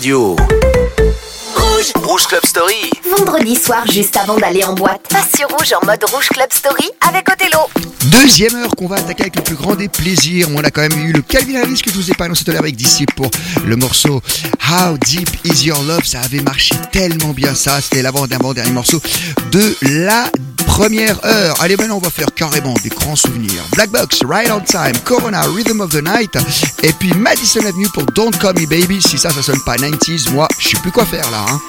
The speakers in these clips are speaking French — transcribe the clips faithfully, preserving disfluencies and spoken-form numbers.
radio. Rouge, Rouge Club Story. Vendredi soir, juste avant d'aller en boîte, passe sur Rouge en mode Rouge Club Story avec Othello. Deuxième heure qu'on va attaquer avec le plus grand des plaisirs. On a quand même eu le Calvin Harris que je vous ai pas annoncé tout à l'heure avec Disciple pour le morceau How Deep Is Your Love. Ça avait marché tellement bien ça. C'était l'avant-dernier morceau de la première heure. Allez, maintenant on va faire carrément des grands souvenirs. Black Box, Right on Time, Corona, Rhythm of the Night, et puis Madison Avenue pour Don't Call Me Baby. Si ça, ça sonne pas nineties, moi, je sais plus quoi faire là. Hein.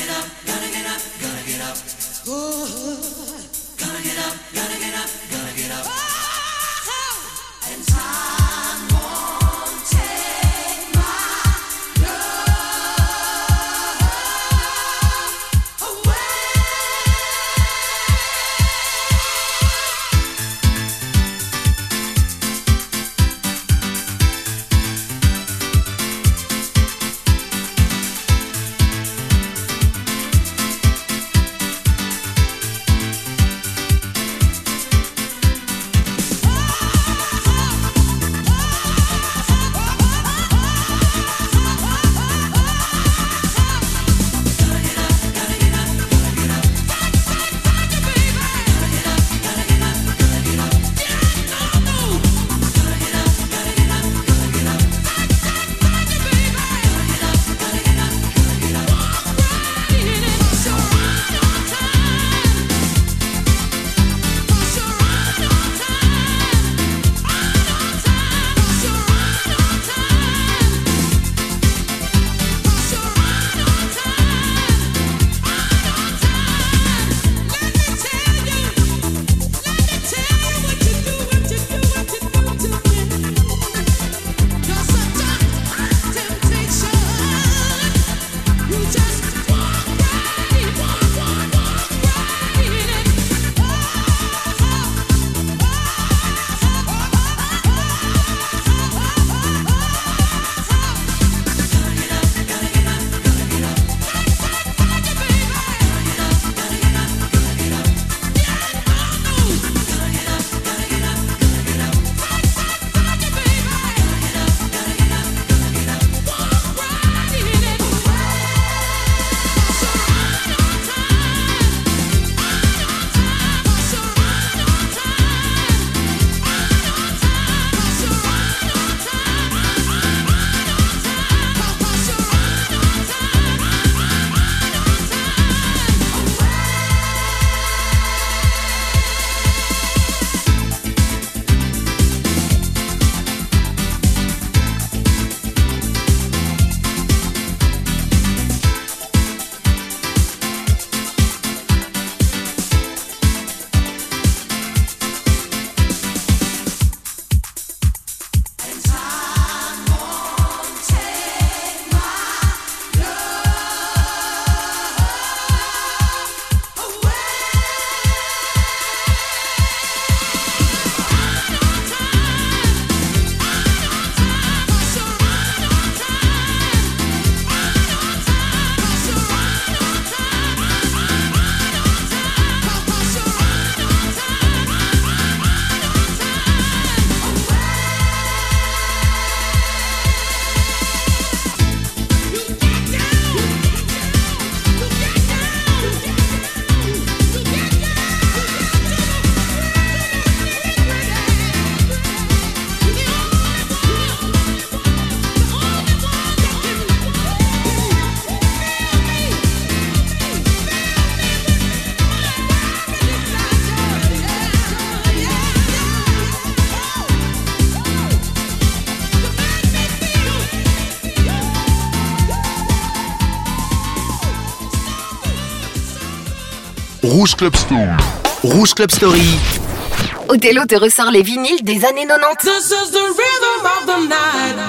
Rouge Club Story. Rouge Club Story. Othello te ressort les vinyles des années quatre-vingt-dix. This is the rhythm of the night.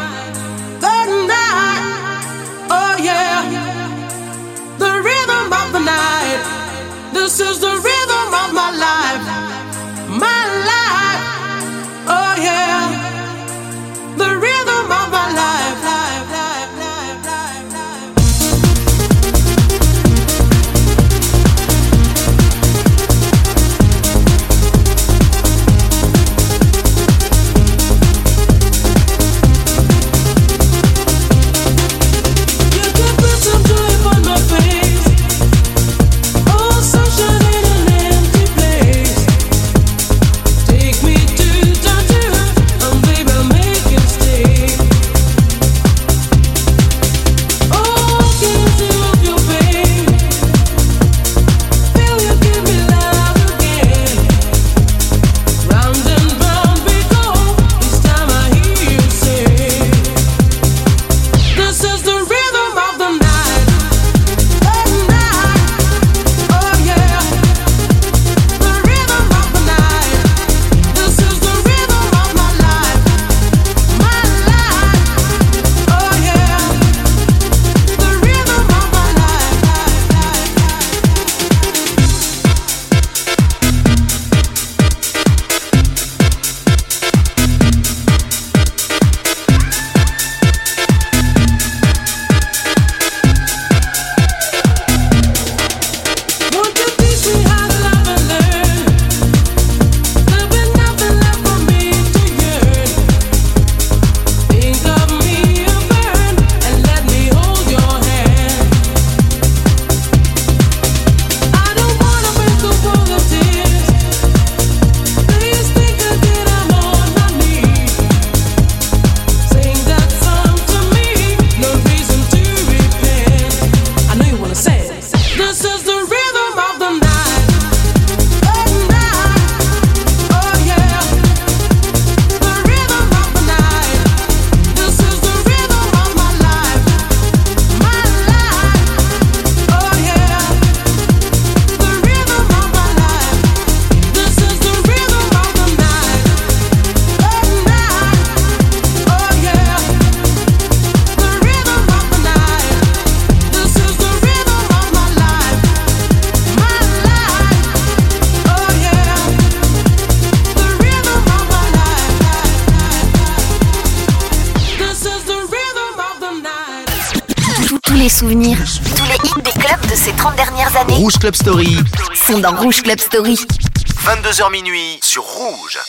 The night. Oh yeah. The rhythm of the night. This is the rhythm of my life. My life. Oh yeah. The rhythm of my life. Life, life, life, life, life. You could les souvenirs, tous les hits des clubs de ces trente dernières années Rouge Club Story. sont dans Rouge Club Story. vingt-deux heures minuit sur Rouge.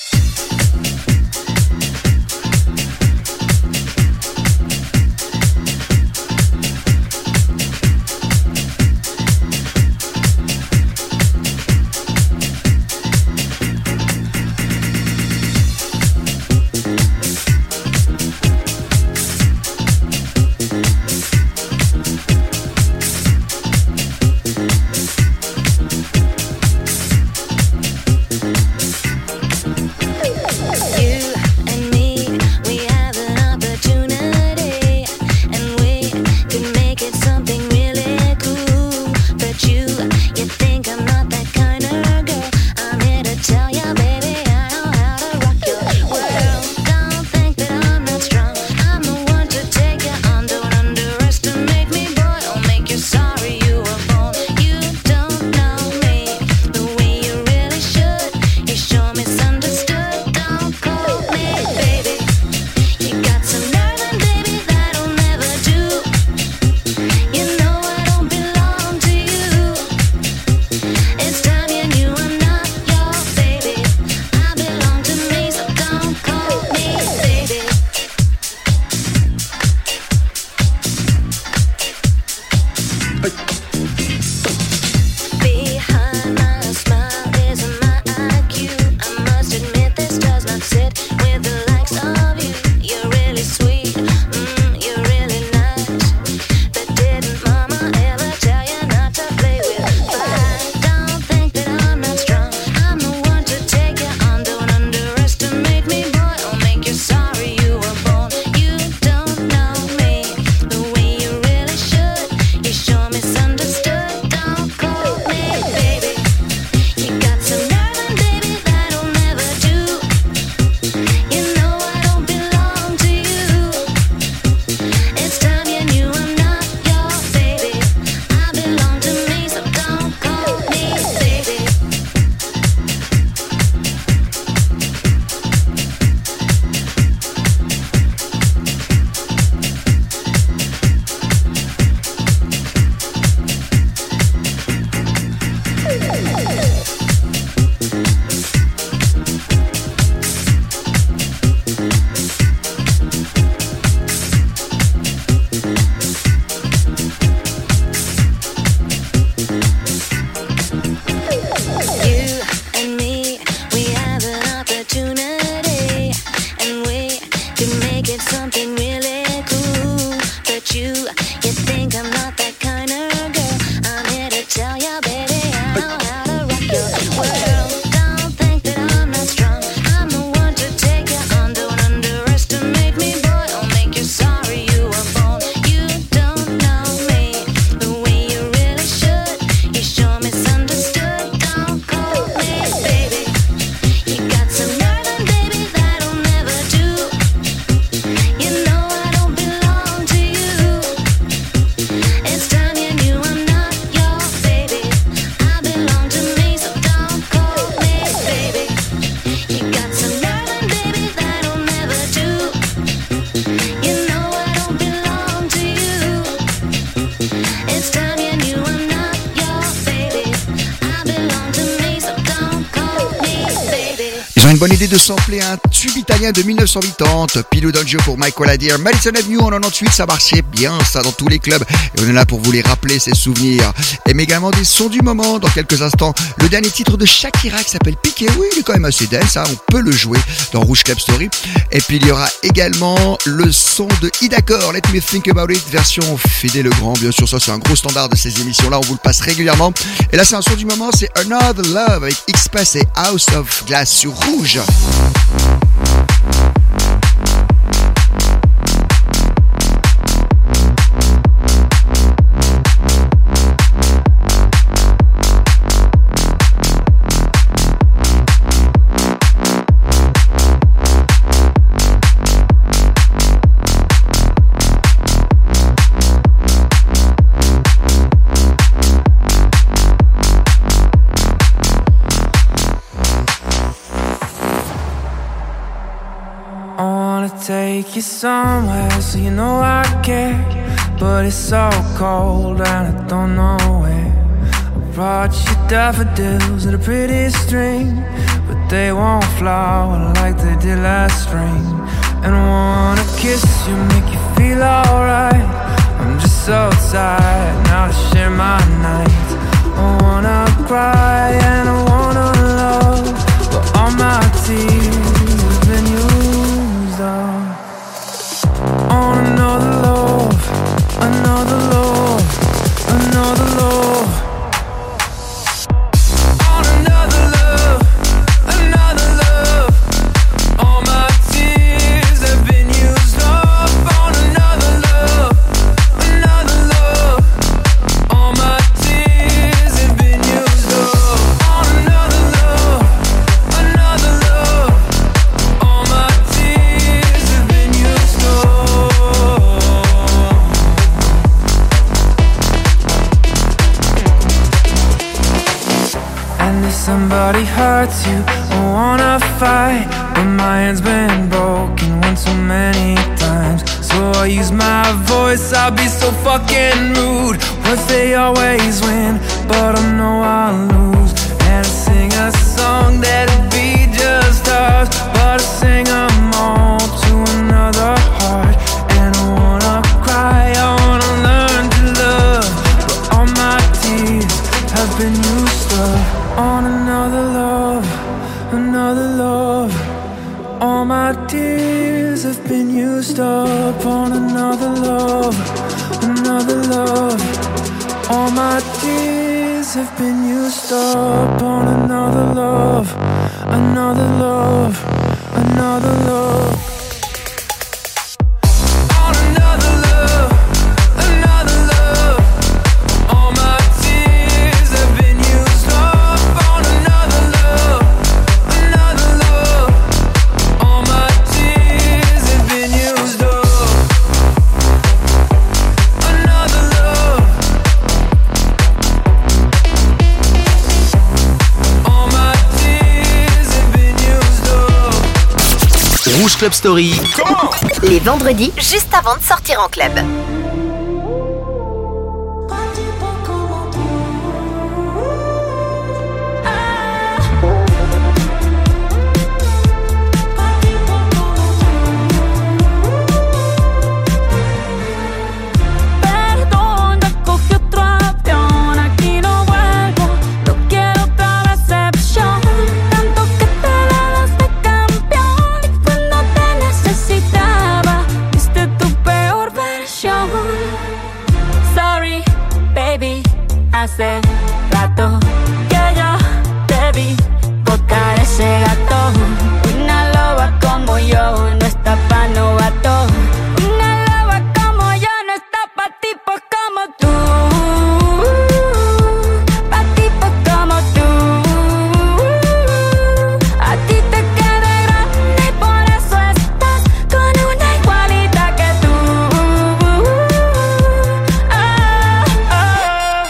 Une bonne idée de sampler un tube italien de dix-neuf cent quatre-vingt-dix, Pilou D'Angio pour Michael Adir, Madison Avenue en quatre-vingt-dix-huit, ça marchait bien ça dans tous les clubs et on est là pour vous les rappeler ces souvenirs. Et mais également des sons du moment dans quelques instants, le dernier titre de Shakira qui s'appelle Piqué, oui il est quand même assez dense, hein, on peut le jouer dans Rouge Club Story. Et puis il y aura également le son de Idacor, Let Me Think About It, version Fédé Legrand, bien sûr ça c'est un gros standard de ces émissions là, on vous le passe régulièrement. Et là c'est un son du moment, c'est Another Love avec X-Pass et House of Glass sur Rouge. Take you somewhere so you know I care. but it's so cold and I don't know where. I brought you daffodils and a pretty string, but they won't flower like they did last spring. And I wanna kiss you, make you feel alright. I'm just so tired now to share my nights. I wanna cry and I wanna love, but all my tears have been used up on another love, another love, another love. On another love, another love. All my tears have been used up on another love, another love. All my tears have been used up on another love, another love. All my tears have been used up. And if somebody hurts you, I wanna fight, but my hand's been broken one too many times. So I use my voice, I'll be so fucking rude. What they always win, but I know I'll lose. And I sing a song that'll be just ours, but I sing them all to another heart. And I wanna cry, I wanna learn to love, but all my tears have been used up on another love, another love. All my tears have been used up on another love, another love. All my tears have been used up on another love, another love, another love. On another love, another love. All my tears have been used up on another love, another love. All my tears have been used up, another love. All my tears have been used up. Rouge Club Story. Les vendredis, juste avant de sortir en club. Perdón, ya cogí otro avión, aquí no vuelvo, no quiero otra decepción. Tanto que te dabas de campeón y cuando te necesitaba, viste tu peor versión. Sorry, baby, hace rato que yo debí botar ese gato. Una loba como yo no está pa' novato. Una loba como yo no está pa' tipos como tú, pa' tipos como tú. A ti te queda grande y por eso estás con una igualita que tú. Ah, ah.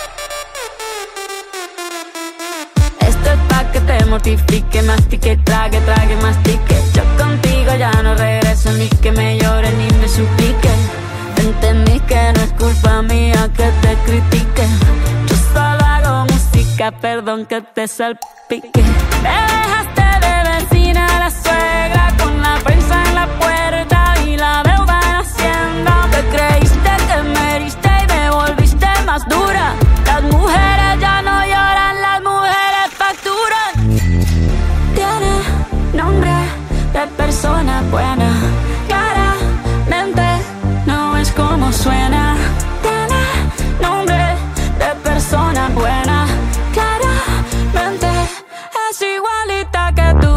Esto es pa' que te mortifique, mastique, trague, trague, mastique. Yo contigo ya no regreso, ni que me llore ni me suplique. Entendí que no es culpa mía que te critique. Yo solo hago música, perdón que te salpique. Me dejaste de vecina a la suegra, con la prensa en la puerta y la deuda en Hacienda. Te creíste que me heriste y me volviste más dura. Las mujeres ya no lloran, las mujeres facturan. Tiene nombre de persona buena, claramente no es como suena. Tiene nombre de persona buena, claramente es igualita que tú.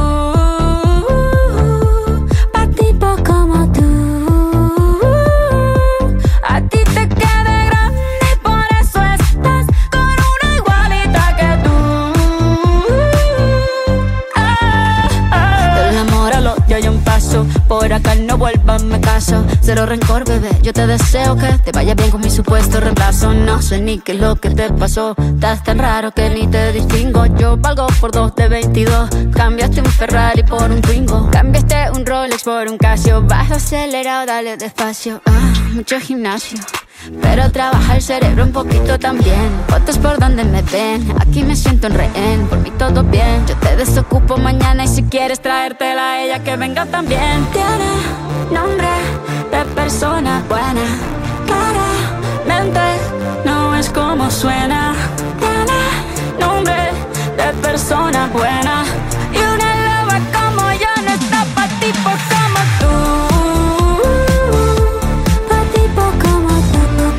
Pa' tipo como tú. A ti te queda grande y por eso estás con una igualita que tú. Ah, ah. Del amor al odio hay un paso, por acá no vuelvas, me caso. Cero rencor, bebé, yo te deseo que te vaya bien con mi supuesto reemplazo. No sé ni qué es lo que te pasó, estás tan raro que ni te distingo. Yo valgo por dos de veintidós, cambiaste un Ferrari por un Twingo. Cambiaste un Rolex por un Casio, bajo acelerado, dale despacio. Ah, mucho gimnasio, pero trabaja el cerebro un poquito también. Fotos por donde me ven, aquí me siento en rehén. Por mí todo bien, yo te desocupo mañana. Y si quieres traértela a ella, que venga también. Tiene nombre de persona buena, claramente no es como suena. Tiene nombre de persona buena, y una loba como yo no está pa' tipos como tú. Pa' tipos como tú.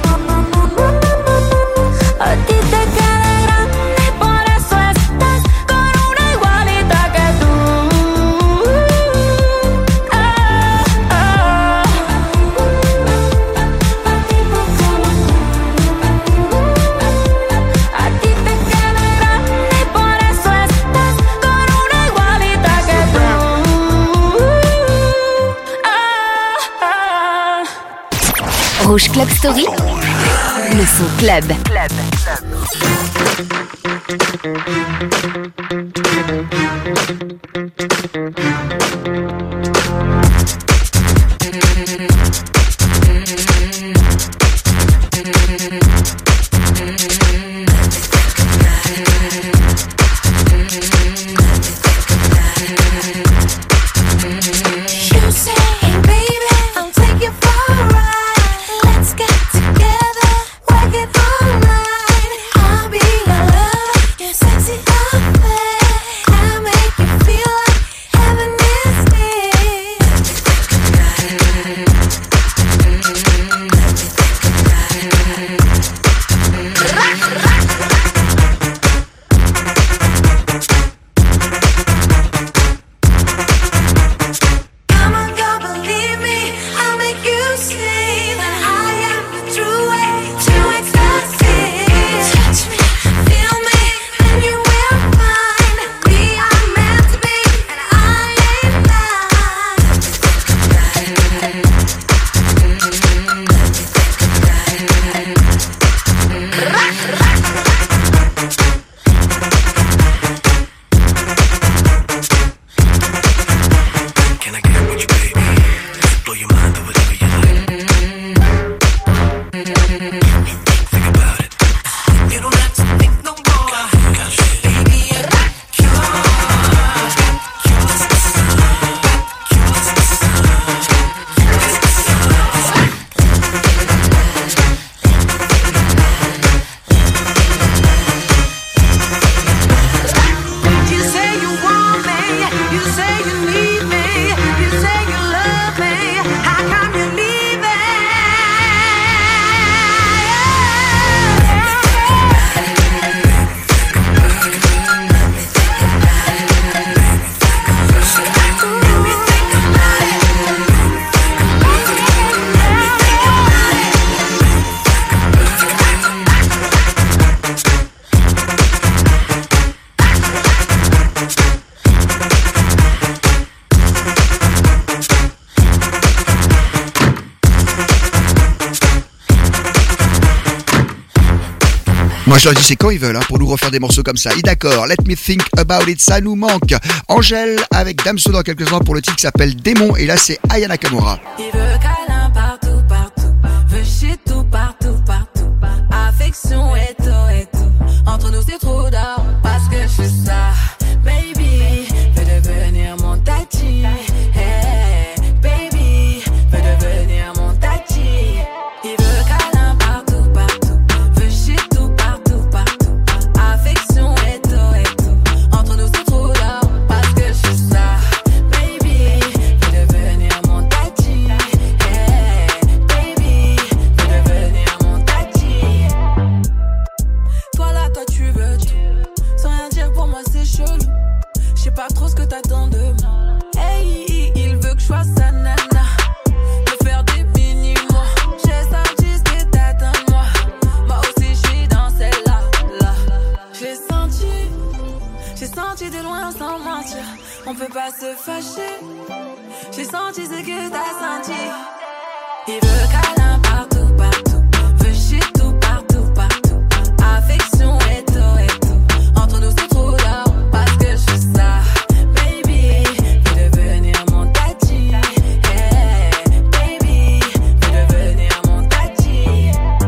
A ti te queda grande, por eso estás con una igualita que tú. Ah, ah. Pa' tipos como tú. A ti te queda grande, por eso estás con una igualita que tú. Ah, ah. Rouge Club Story, le son club. You say, hey baby, I'll take you for a ride. Let's get together, work it all night. I'll be your lover, your sexy affair. I'll make you feel like heaven is near. Come on, girl, believe me, I'll make you see that I am the true way to ecstasy. Touch me, feel me, and you will find we are meant to be, and I ain't lying. Can I get with you, baby? Blow your mind or whatever you like. Think about it. You don't have to think no more. Baby, I got you. You're the sun. You're the You say you want me, you say you need me, you say you love me. How come you leave it? Moi je leur dis c'est quand ils veulent hein, pour nous refaire des morceaux comme ça. Et d'accord, Let Me Think About It, ça nous manque. Angèle avec Damso dans quelques instants pour le titre qui s'appelle Démon, et là c'est Aya Nakamura. Il veut câlin partout, partout. Veut shit tout, partout, partout. Affection et tout, et tout. Entre nous c'est trop d'or, parce que je suis ça. Baby, veut devenir mon tati. Hey, baby, veut devenir mon tati. Il veut câlin partout, partout. Veut shit tout, partout, partout. Affection et tout, et tout. Entre nous c'est trop d'or, parce que je suis ça. Baby, veut devenir mon tati. Hey, baby, veut devenir mon tati. Toi là, toi tu veux tout. Sans rien dire pour moi c'est chelou. Je sais pas trop ce que t'attends de moi. Hey, il veut que je sois sa nana. De faire des mini-mots. J'ai senti ce que t'attends de moi. Moi aussi je suis dans celle-là, là. J'ai senti, j'ai senti de loin sans mentir. On peut pas se fâcher. J'ai senti ce que t'as senti. Il veut câlin partout, partout. Veut shit tout, partout, partout. Affection et tout, et tout. Entre nous c'est trop d'or, parce que je suis ça. Baby, veut devenir mon tati. Hey, baby, veut devenir mon tati.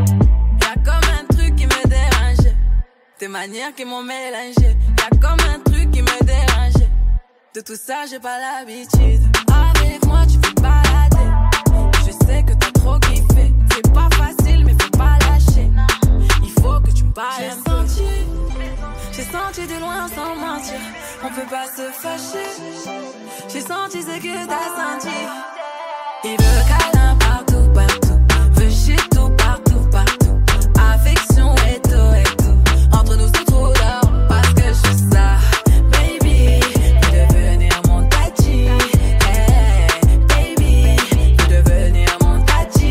souvenirs qui m'ont mélangé. Y'a comme un truc qui me dérangeait. De tout ça, j'ai pas l'habitude. Avec moi, tu peux balader. Je sais que t'as trop kiffé. C'est pas facile, mais faut pas lâcher. Il faut que tu me parles un peu. J'ai senti, j'ai senti de loin sans mentir. On peut pas se fâcher. J'ai senti ce que t'as senti. Il veut câlin partout, partout. Veut shit tout, partout, partout. Affection et tout, et tout. Entre nous c'est trop d'or, parce que je suis ça. Baby, veux devenir mon tati. Hey, baby, veux devenir mon tati.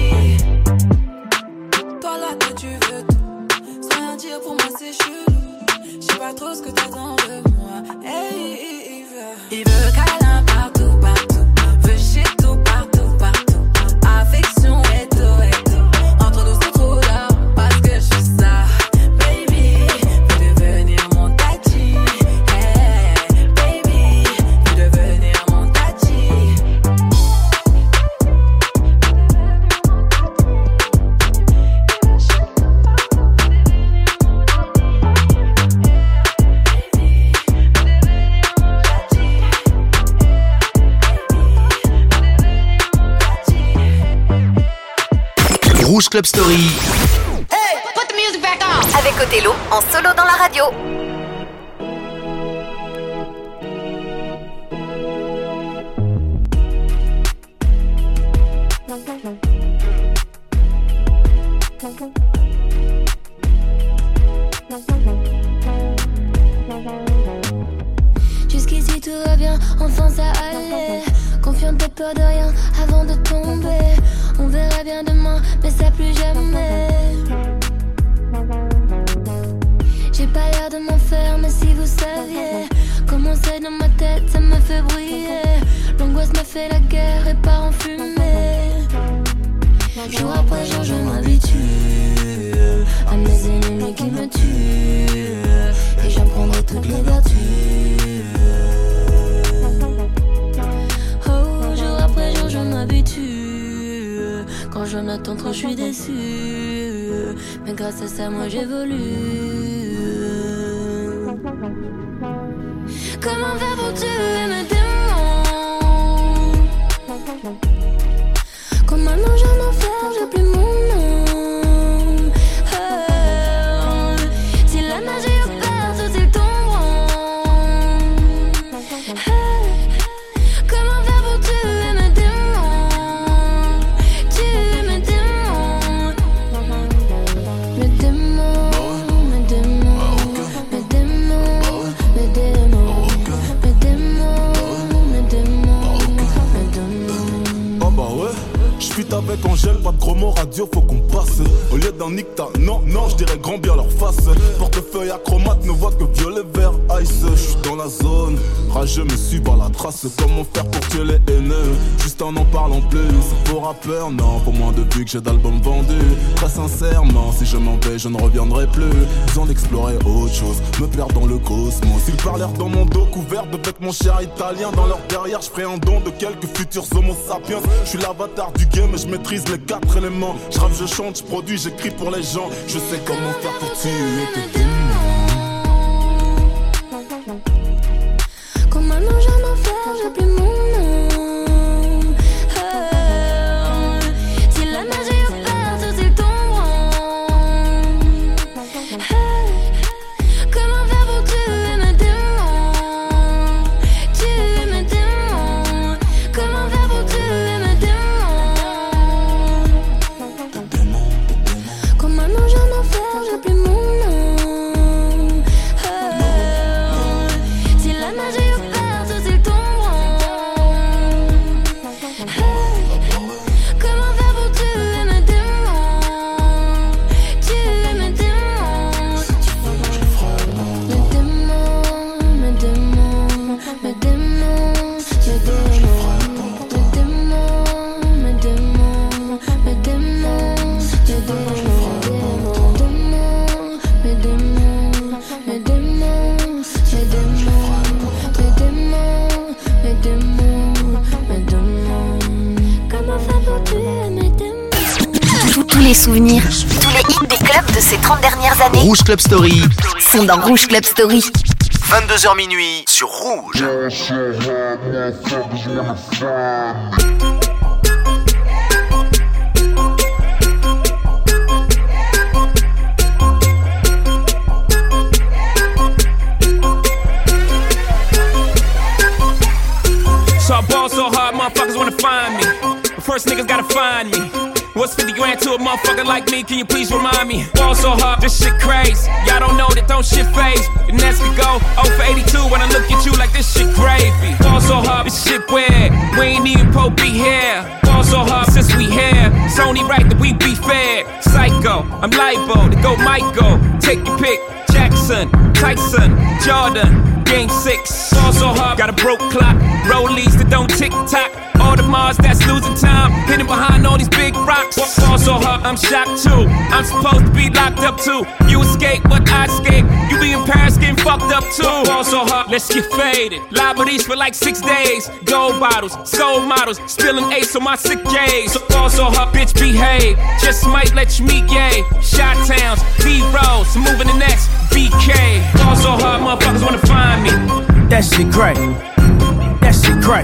Toi là que tu veux tout, sans rien dire pour moi c'est chelou. J'sais pas trop ce que t'attends de moi. Hey, il veut, il veut câlin partout, partout. Veut shit tout, partout, partout. Affection et tout, et tout. Entre nous c'est trop d'or, parce que je suis ça. Baby, veux devenir mon tati. Hey, baby, veux devenir mon tati. Rouge Club Story. Avec Othello en solo dans la radio. Jusqu'ici tout va bien, enfin ça allait. Confiante, pas peur de rien avant de tomber. On verra bien demain, mais ça plus jamais. J'ai pas l'air de m'en faire, mais si vous saviez comment c'est dans ma tête, ça me fait briller. L'angoisse me fait la guerre et part en fumée. Jour après jour, je m'habitue à mes ennemis qui me tuent. Et j'en prendrai toutes les vertus. Oh, jour après jour, je m'habitue. Quand j'en attends trop, je suis déçue. Mais grâce à ça, moi j'évolue. Comment faire pour tuer mes démons? Quand maintenant j'en enfer, j'ai plus mon nom. Oh, si la magie opère, tout ils tomberont. Oh, comment faire pour tuer mes démons? Tuer mes démons. Mes démons, mes démons, mes démons, mes démons, mes démons, mes démons, mes démons. Ah bah ouais, j'fuite avec Angèle, pas de gros mots radio, faut qu'on passe. Au lieu d'un nicta, non, non, j'dirais grand bien leur face. Portefeuille acromate, ne voit que violet, vert, ice. J'suis dans la zone, rageux me suit par la trace. Comment faire pour tuer les haineux, juste en en parlant plus. C'est pour rappeur, non, pour moins de vues que j'ai d'albums vendus. Très sincèrement, si je m'en vais, je ne reviendrai plus. Besoin d'explorer autre chose, me perdre dans le cosmos. Ils parlèrent dans mon dos couvert de vêtements chers italiens. Dans leur derrière, j'ferai un don de quelques futurs homo sapiens. J'suis l'avatar du game et je maîtrise les quatre éléments. J'rappe, je chante, j'produis, j'écris pour les gens. Je sais comment faire pour tuer tes démons. Quand maintenant j'en enfer, j'ai plus mon nom. Oh, si la magie opère, tout ils tomberont. Oh, comment faire pour tuer mes démons? Tuer mes démons. Comment faire pour tuer mes démons? Quand maintenant j'en enfer, j'ai plus mon nom. Oh, si la magie opère, tout ils tomberont. Oh, comment faire pour tuer mes démons? Tuer mes démons. Mes démons, mes démons, mes démons, mes démons, mes démons, mes démons, mes démons, mes démons, mes démons, mes démons, mes démons, mes démons, mes démons, mes démons. Comment faire pour tuer mes démons? Tous tous les souvenirs, tous les hits top des clubs de ces trente dernières années Rouge Club Story sont dans Rouge Club Story. vingt-deux heures minuit sur Rouge. So I ball so hard, motherfuckers wanna find me. But first niggas gotta find me. What's fifty grand to a motherfucker like me? Can you please remind me? Ball so hard, this shit crazy. Y'all don't know that don't shit phase. And that's we go oh for eighty-two when I look at you like this shit gravy. Ball so hard, this shit weird. We ain't even po be here. Ball so hard since we here. It's only right that we be fair. Psycho, I'm liable to go Michael. Take your pick. Jackson, Tyson, Jordan, game six. Ball so hard, got a broke clock. Rollies that don't tick tock. All the Mars that's losing time, hidden behind all these big rocks. Ball so hard, I'm shocked too. I'm supposed to be locked up too. You escape, but I escape. You be in Paris getting fucked up too. Ball so hard, let's get faded. Liberties for like six days. Gold bottles, soul models, spilling ace on my sick days. So ball so hard, bitch behave. Just might let you meet gay. Shot towns, B-rolls, moving the next B K. Ball so hard, motherfuckers wanna find me. That shit crack. That shit crack.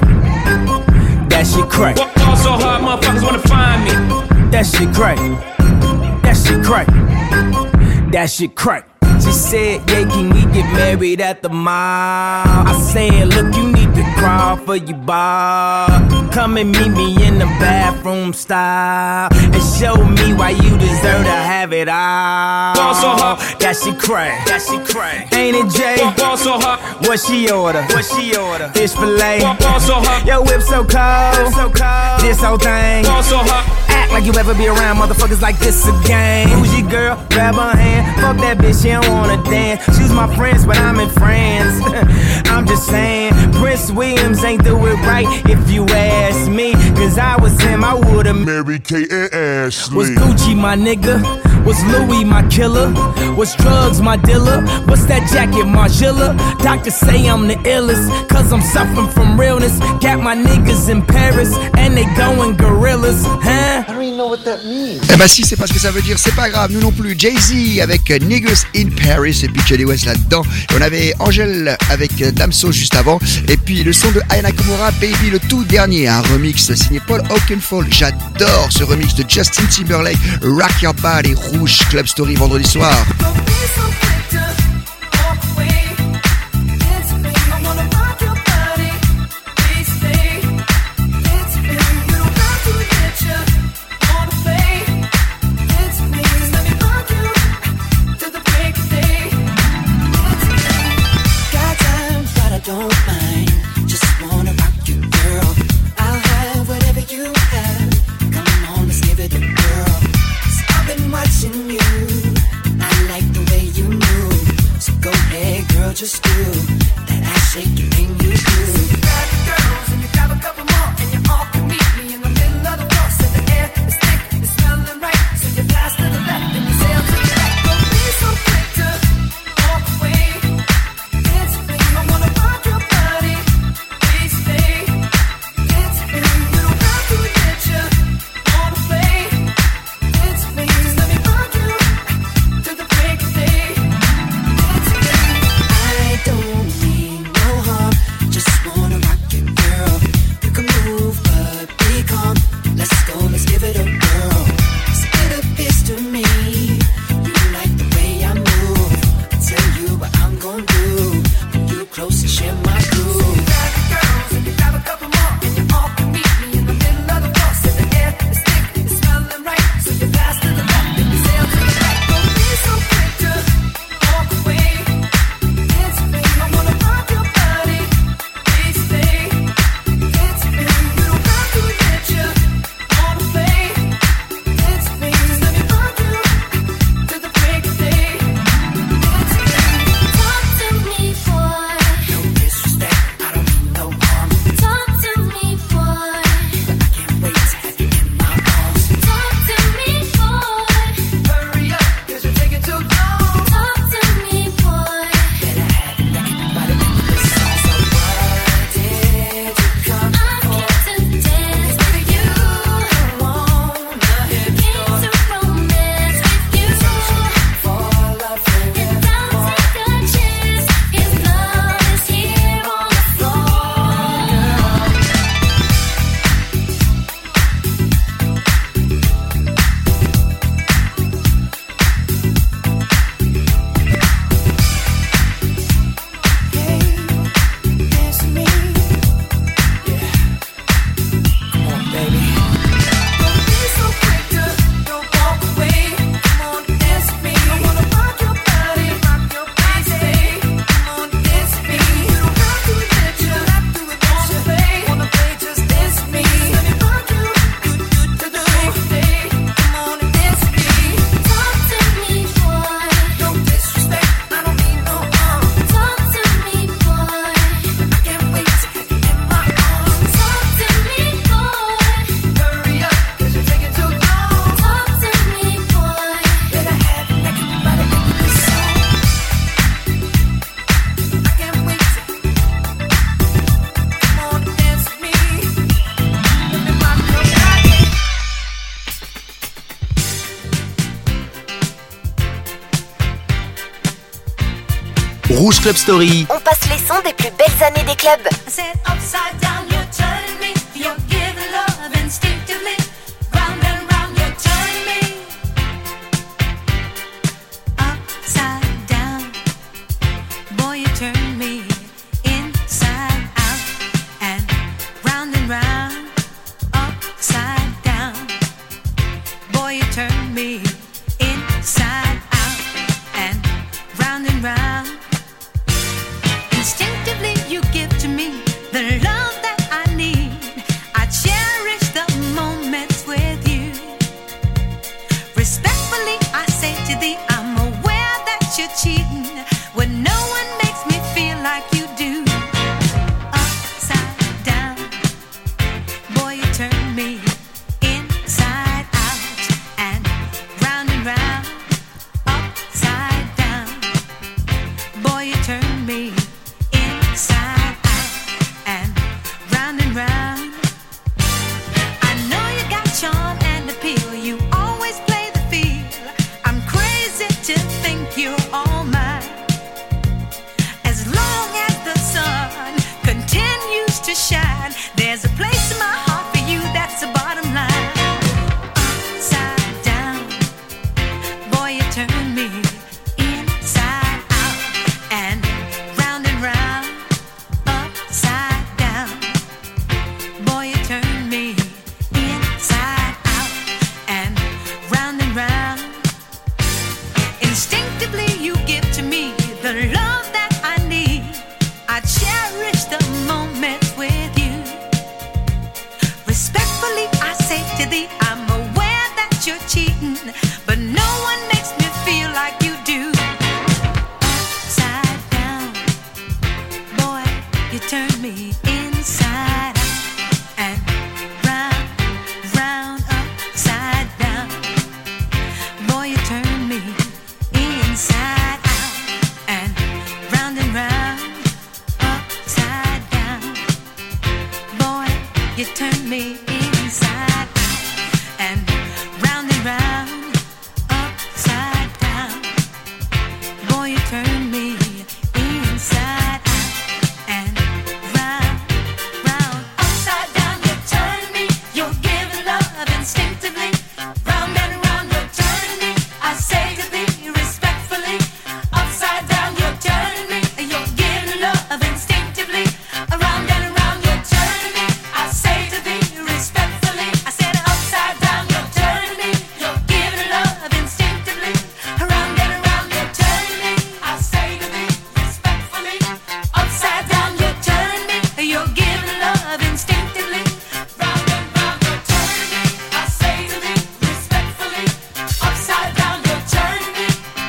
That shit crack. Ball so hard, motherfuckers wanna find me. That shit crack. That shit crack. That shit crack. She said, yeah, can we get married at the mall? I said, look, you need to crawl for your bar. Come and meet me in the bathroom style and show me why you deserve to have it all. Ball so hard, that shit crack. That shit crack. Ain't it, Jay? Ball so hard, what she order? What she order? Fish fillet. Ball so hard, your whip so cold. So cold. This whole thing. Ball so hard. Act like you ever be around motherfuckers like this again. Who's your girl? Grab her hand. Fuck that bitch, she don't wanna dance. She's my friends, but I'm in France. I'm just saying, Prince Williams ain't do it right if you ask me. Cause I was him, I would've married Kate and Ashley. Was Gucci my nigga? Was Louis my killer? Was drugs my dealer? What's that jacket, Margiela? Doctors say I'm the illest, cause I'm suffering from realness. Got my niggas in Paris, and they going gorillas, huh? I don't even know what that means. Eh bah si, c'est pas ce que ça veut dire, c'est pas grave, nous non plus. Jay-Z avec Niggas in Paris et puis Johnny West là-dedans. Et on avait Angèle avec Damso juste avant. Et puis le son de Aya Nakamura, Baby, le tout dernier, un remix signé Paul Oakenfold. J'adore ce remix de Justin Timberlake, Rock Your Body, Rouge Club Story vendredi soir. Watching you, I like the way you move. Rouge Club Story. On passe les sons des plus belles années des clubs. I said upside down, you're turning me. You're giving love instinctively. Round and round, you're turning me. Upside down, boy, you turn me inside out. And round and round, upside down, boy, you turn me inside out. And round and round, instinctively you give to me the love that I need. I cherish the moments with you. Respectfully I say to thee, I'm aware that you're cheating when no one makes me feel like you do. Upside down, boy, you turn me inside out. And round and round, upside down, boy, you turn me inside out. And round and round, I know you got charm and appeal. You always play the field. I'm crazy to think you're all mine. As long as the sun continues to shine, there's a place in my heart for you, that's the bottom line. Upside down, boy, you turn me inside out. And round and round, upside down, boy, you turn me inside out. And round and round, instinctively you give to me the love that I need. I cherish the moments with you. Respectfully I say to thee, I'm aware that you're cheating, but no one makes me feel like you do. Upside down, boy, you turn me inside out. And round, round, upside down, boy, you turn me inside out. And round and round, upside down, boy, you turn me inside out. And round and round, upside down, boy, you turn me inside out. And round, round, upside down, you turn me. You're giving love instinctively. Round and round, you're turning me. I say to thee respectfully, upside down, you're turning me. You're giving love instinctively. Around and around, you're turning me. I say to thee respectfully, I said upside down, you're turning me. You're giving love instinctively. Around and around, you're turning me. I say to thee respectfully, upside down, you're turning me. You're giving love instinctively. Round and round, you're turning me. I say to thee respectfully, upside down, you're turning me.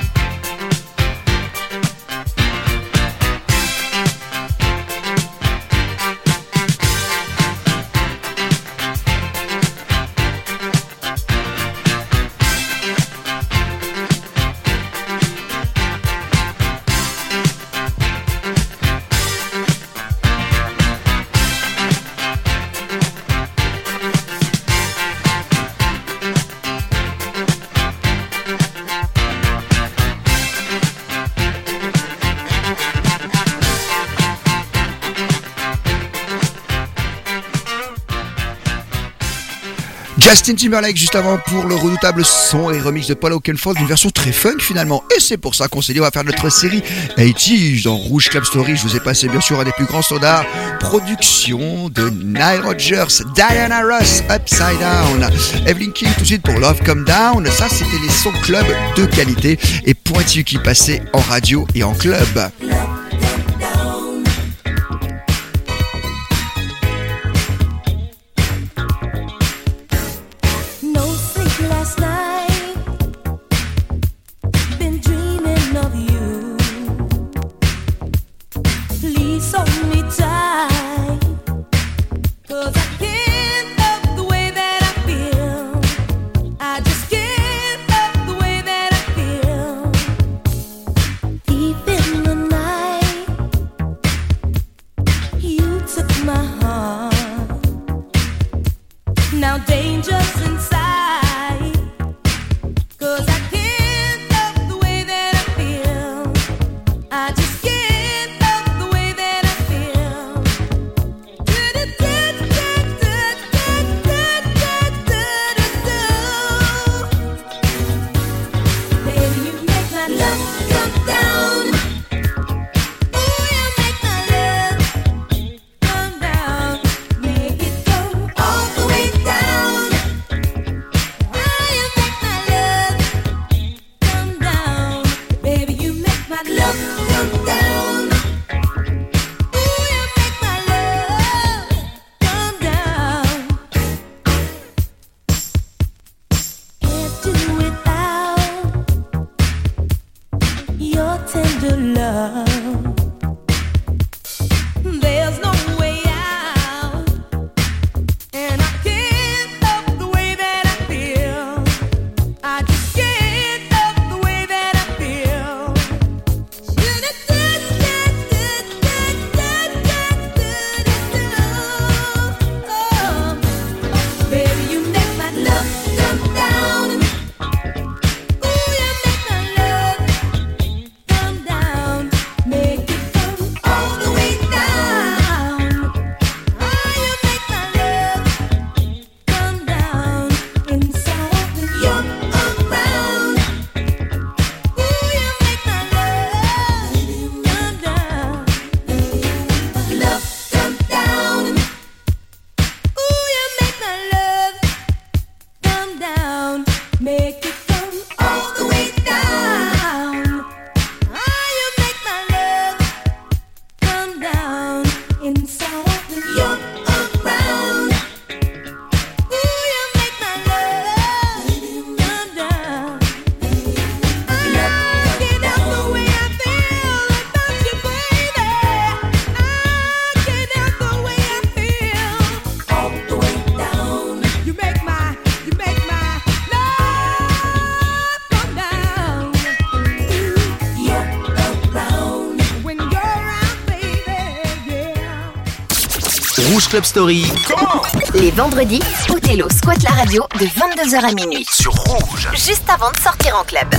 Justin Timberlake juste avant pour le redoutable son et remix de Paul Oakenfold, une version très funk finalement. Et c'est pour ça qu'on s'est dit on va faire notre série quatre-vingt-dix dans Rouge Club Story. Je vous ai passé bien sûr un des plus grands standards. Production de Nile Rodgers, Diana Ross, Upside Down, Evelyn King tout de suite pour Love Come Down. Ça c'était les sons club de qualité et pointus qui passaient en radio et en club. No sleep last night. Been dreaming of you. Please hold me tight. 'Cause I can't love the way that I feel. I just can't love the way that I feel. Deep in the night, you took my heart. Now danger's inside. 'Cause I can't love the way that I feel. I just can't. Rouge Club Story. Les vendredis, Othello squatte la radio de vingt-deux heures à minuit. Sur Rouge. Juste avant de sortir en club.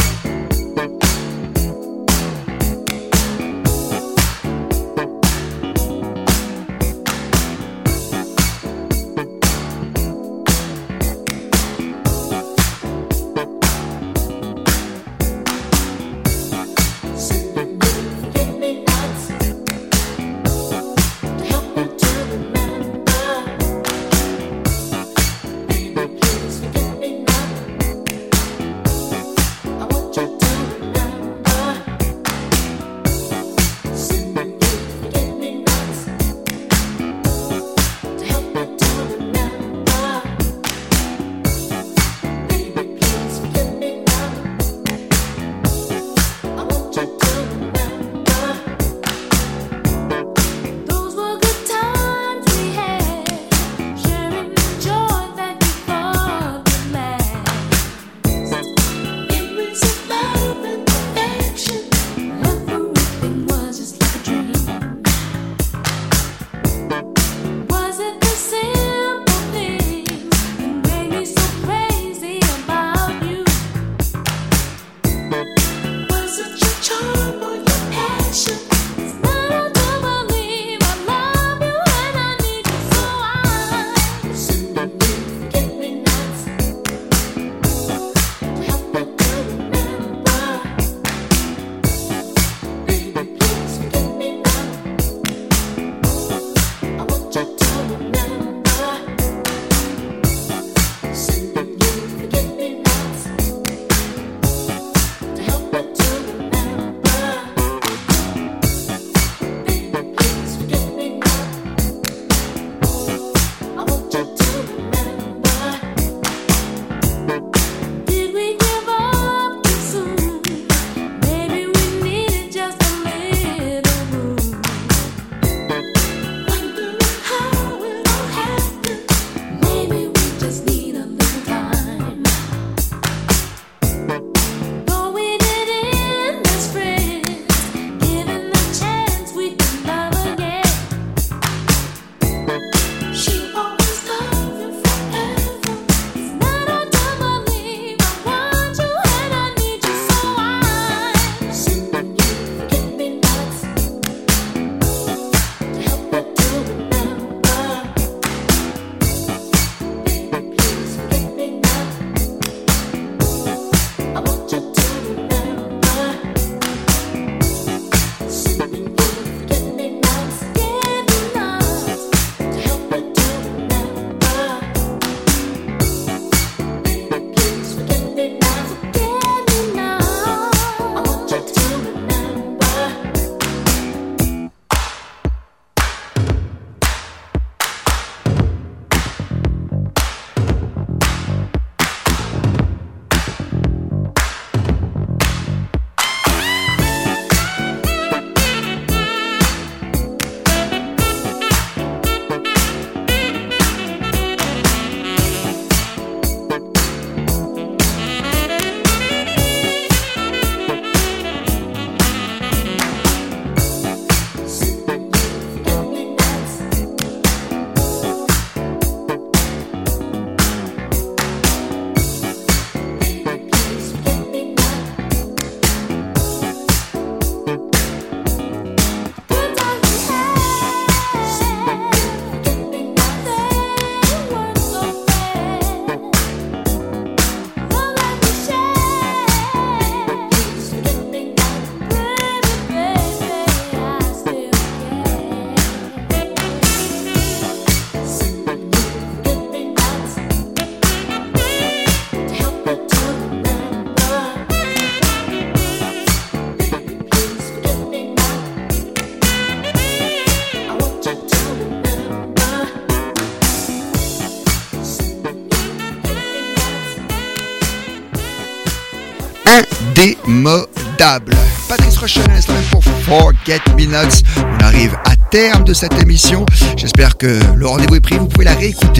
indémodable. Patrice Rochelle à l'instant même pour Forget Me Nots. On arrive à terme de cette émission. J'espère que le rendez-vous est pris. Vous pouvez la réécouter en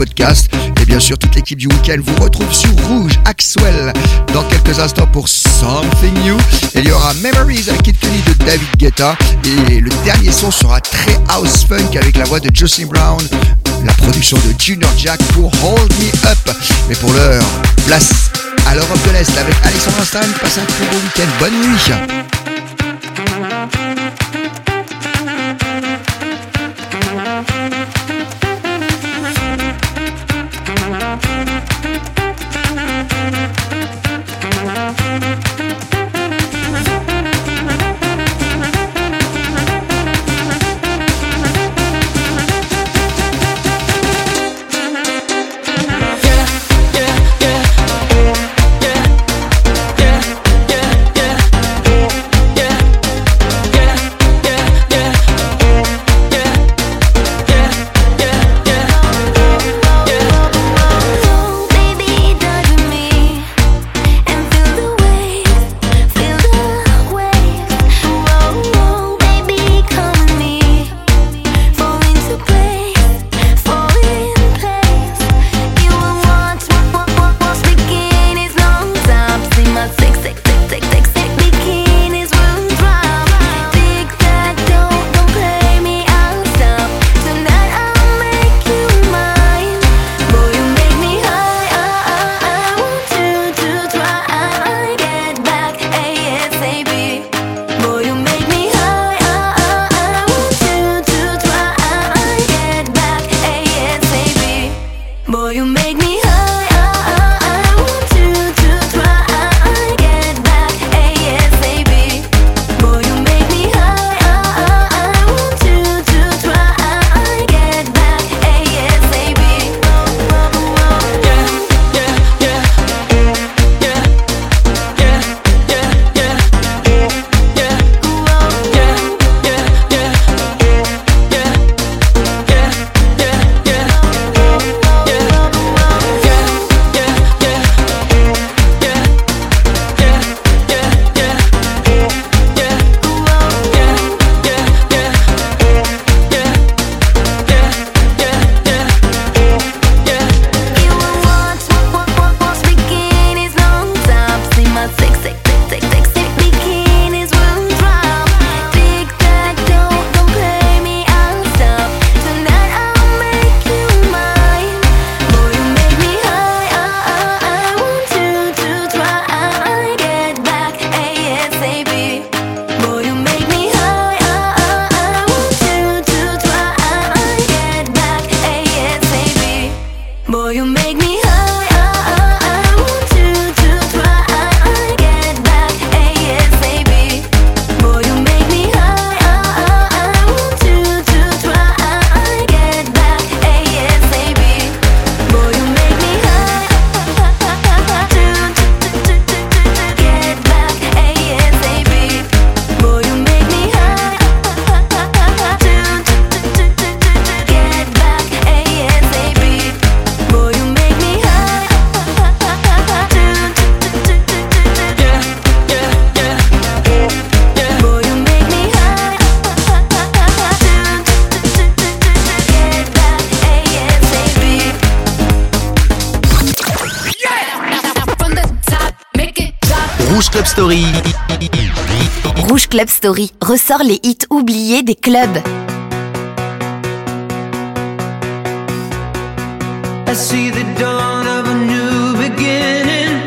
podcast. Et bien sûr, toute l'équipe du week-end vous retrouve sur Rouge. Axwell dans quelques instants pour Something New. Et il y aura Memories avec Kid Cudi de David Guetta. Et le dernier son sera très house funk avec la voix de Jocelyn Brown. La production de Junior Jack pour Hold Me Up. Mais pour l'heure, place à l'Europe de l'Est avec Alexandre Stein. Passez un très beau week-end. Bonne nuit. Rouge Club Story. Rouge Club Story ressort les hits oubliés des clubs. I see the dawn of a new beginning.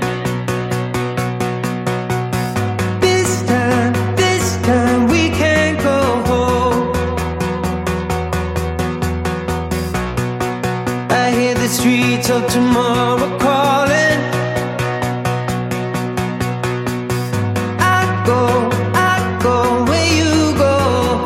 This time, this time we can't go home. I hear the streets of tomorrow calling. I go, I go where you go.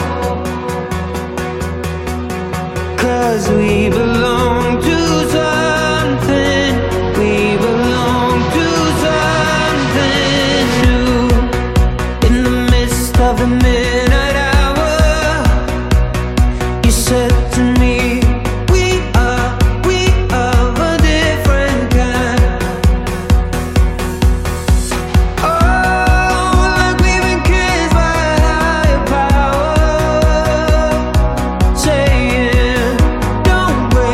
'Cause we belong to something. We belong to something new. In the midst of the midnight hour, you said to me, we are, we are a different kind. Oh, like we've been kissed by a higher power, saying, don't break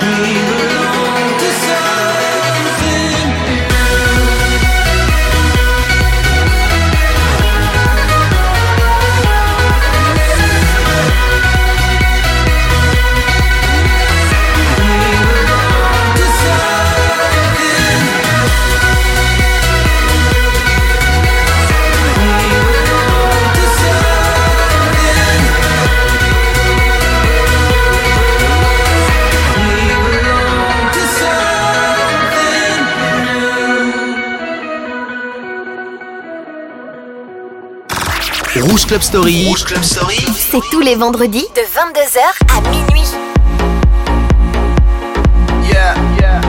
Rouge Club Story. Rouge Club Story. C'est tous les vendredis de vingt-deux heures à minuit. Yeah, yeah,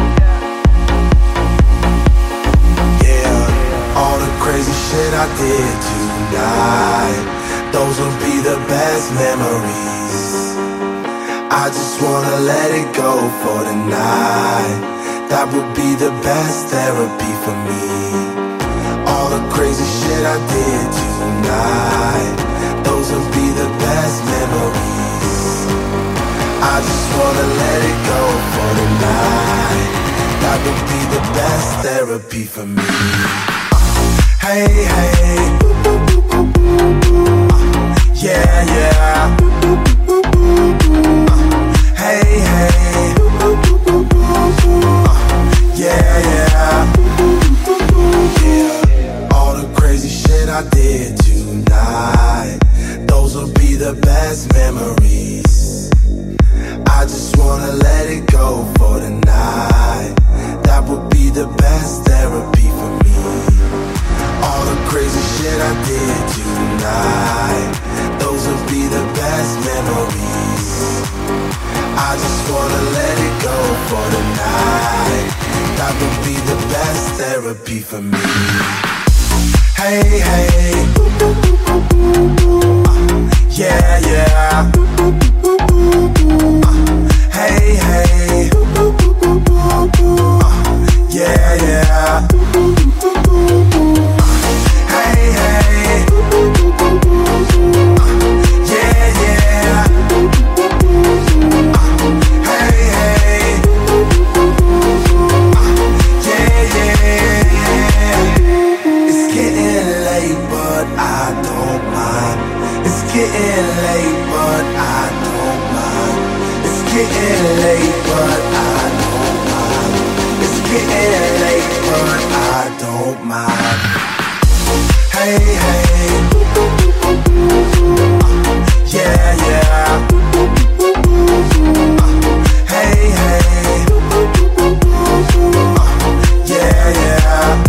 yeah. All the crazy shit I did tonight, those will be the best memories. I just wanna let it go for tonight. That would be the best therapy for me. All the crazy shit I did tonight, those will be the best memories. I just wanna let it go for tonight. That would be the best therapy for me. Hey, hey, yeah, yeah. Hey, hey, yeah, yeah. All the crazy shit I did tonight, those will be the best memories. I just wanna let it go for tonight. That would be the best therapy for me. All the crazy shit I did tonight, those will be the best memories. I just wanna let it go for tonight. That would be the best therapy for me. Hey, hey, uh, yeah, yeah. Uh, hey, hey, uh, yeah, yeah. Uh, hey, hey, uh, yeah, yeah. Uh, hey, hey, uh, yeah, yeah. It's getting late, but I don't mind. It's getting late, but I don't mind. It's getting late, but I don't mind. It's getting late, but I don't mind. Hey, hey, uh, yeah, yeah. Uh, hey, hey, uh, yeah, yeah.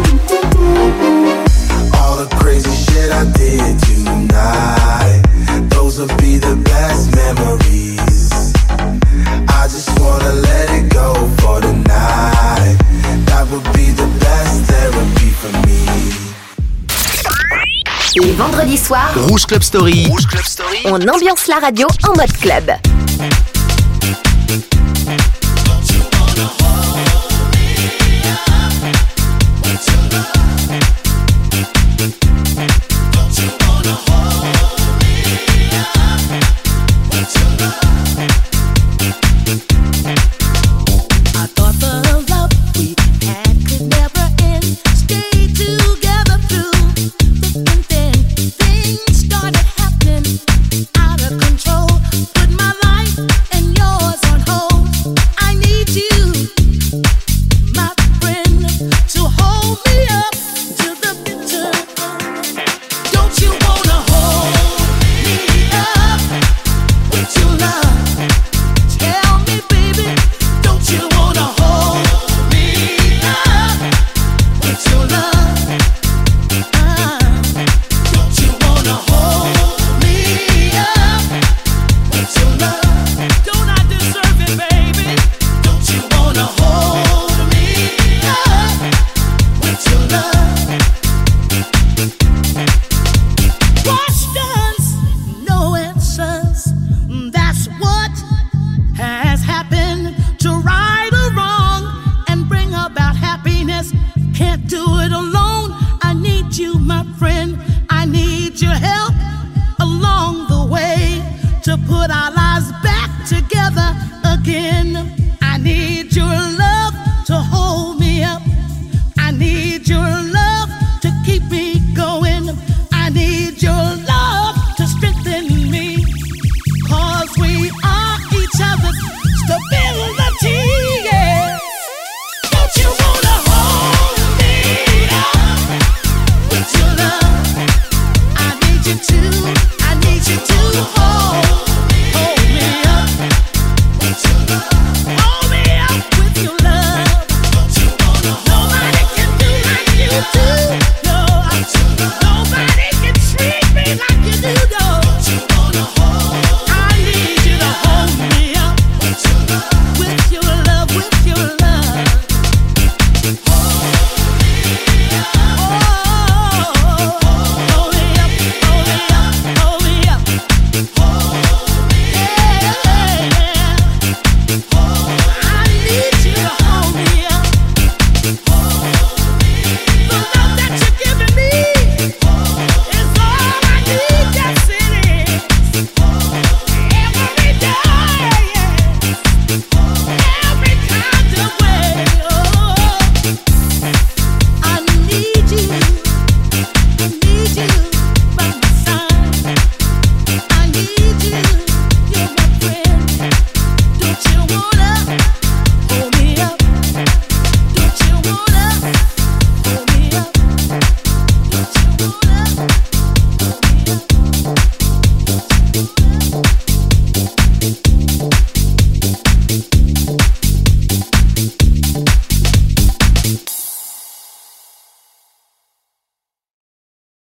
All the crazy shit I did tonight, those will be the best memories. I just wanna let it go for tonight. That would be the best therapy for me. Les vendredis soirs, Rouge Club Story. Rouge Club Story. on ambiance la radio en mode club. I thought the love we had could never end. Stay together through thick and thin. Things started happening out of control. Put my life and yours on hold. I need you, my friend, to hold me up to the bitter end. Don't you wanna hold me up with your love? Tell me, baby, don't you wanna hold me up with your love? Uh, don't you wanna hold me up with your love? Don't I deserve it, baby? Don't you wanna hold me up with your love? Questions, no answers. That's what has happened. To right or wrong and bring about happiness. Can't do it alone. I need you, my friend. I need your help along the way to put our lives back together again. stability, yeah. Don't you wanna hold me up with your love? I need you to, I need you to hold, hold me up with your love. Oh,